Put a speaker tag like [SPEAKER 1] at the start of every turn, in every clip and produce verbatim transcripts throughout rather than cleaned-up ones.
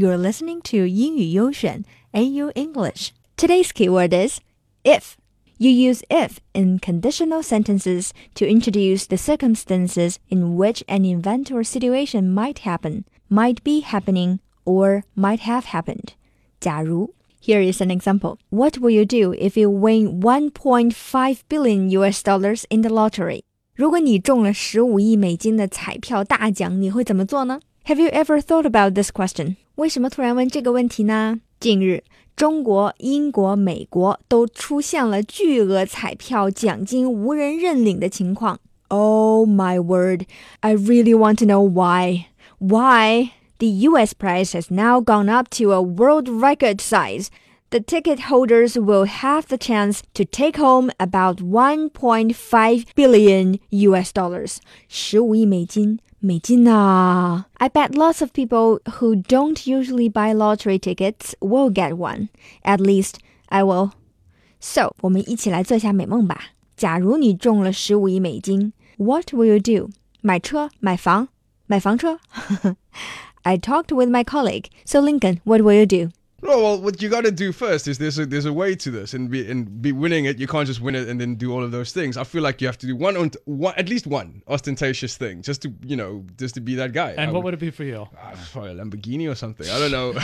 [SPEAKER 1] You're listening to 英语优选 A U English. Today's keyword is if. You use if in conditional sentences to introduce the circumstances in which an event or situation might happen, might be happening, or might have happened. 假如 Here is an example. What will you do if you win one point five billion U S dollars in the lottery? 如果你中了十五亿美金的彩票大奖，你会怎么做呢？ Have you ever thought about this question? 为什么突然问这个问题呢？近日中国、英国、美国都出现了巨额彩票奖金无人认领的情况。Oh my word, I really want to know why. Why? The U S prize has now gone up to a world record size. The ticket holders will have the chance to take home about one point five billion U S dollars. 十五亿美金。美金啊 I bet lots of people who don't usually buy lottery tickets will get one. At least, I will. So, 我们一起来做下美梦吧。假如你中了十五亿美金 What will you do? 买车？买房？买房车？I talked with my colleague. So, Lincoln, what will you do?
[SPEAKER 2] No, well, what you got to do first is there's a, there's a way to this, and be and be winning it. You can't just win it and then do all of those things. I feel like you have to do one, one at least one ostentatious thing, just to you know, just to be that guy.
[SPEAKER 3] And I what would, would it be for you?
[SPEAKER 2] Uh, probably a Lamborghini or something. I don't know,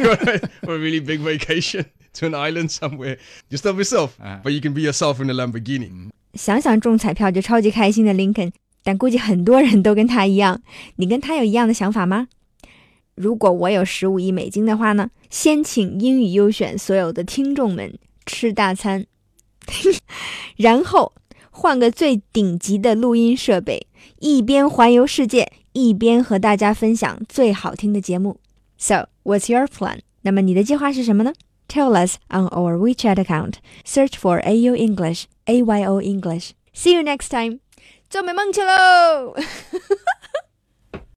[SPEAKER 2] or a really big vacation to an island somewhere. Just love yourself, uh-huh. But you can be yourself in a Lamborghini.
[SPEAKER 1] 想想中彩票就超级开心的 Lincoln， 但估计很多人都跟他一样。你跟他有一样的想法吗？如果我有十五亿美金的话呢，先请英语优选所有的听众们吃大餐，然后换个最顶级的录音设备，一边环游世界，一边和大家分享最好听的节目。So, what's your plan? 那么你的计划是什么呢？ Tell us on our WeChat account. Search for A U English, A Y O English. See you next time. 做美梦去喽！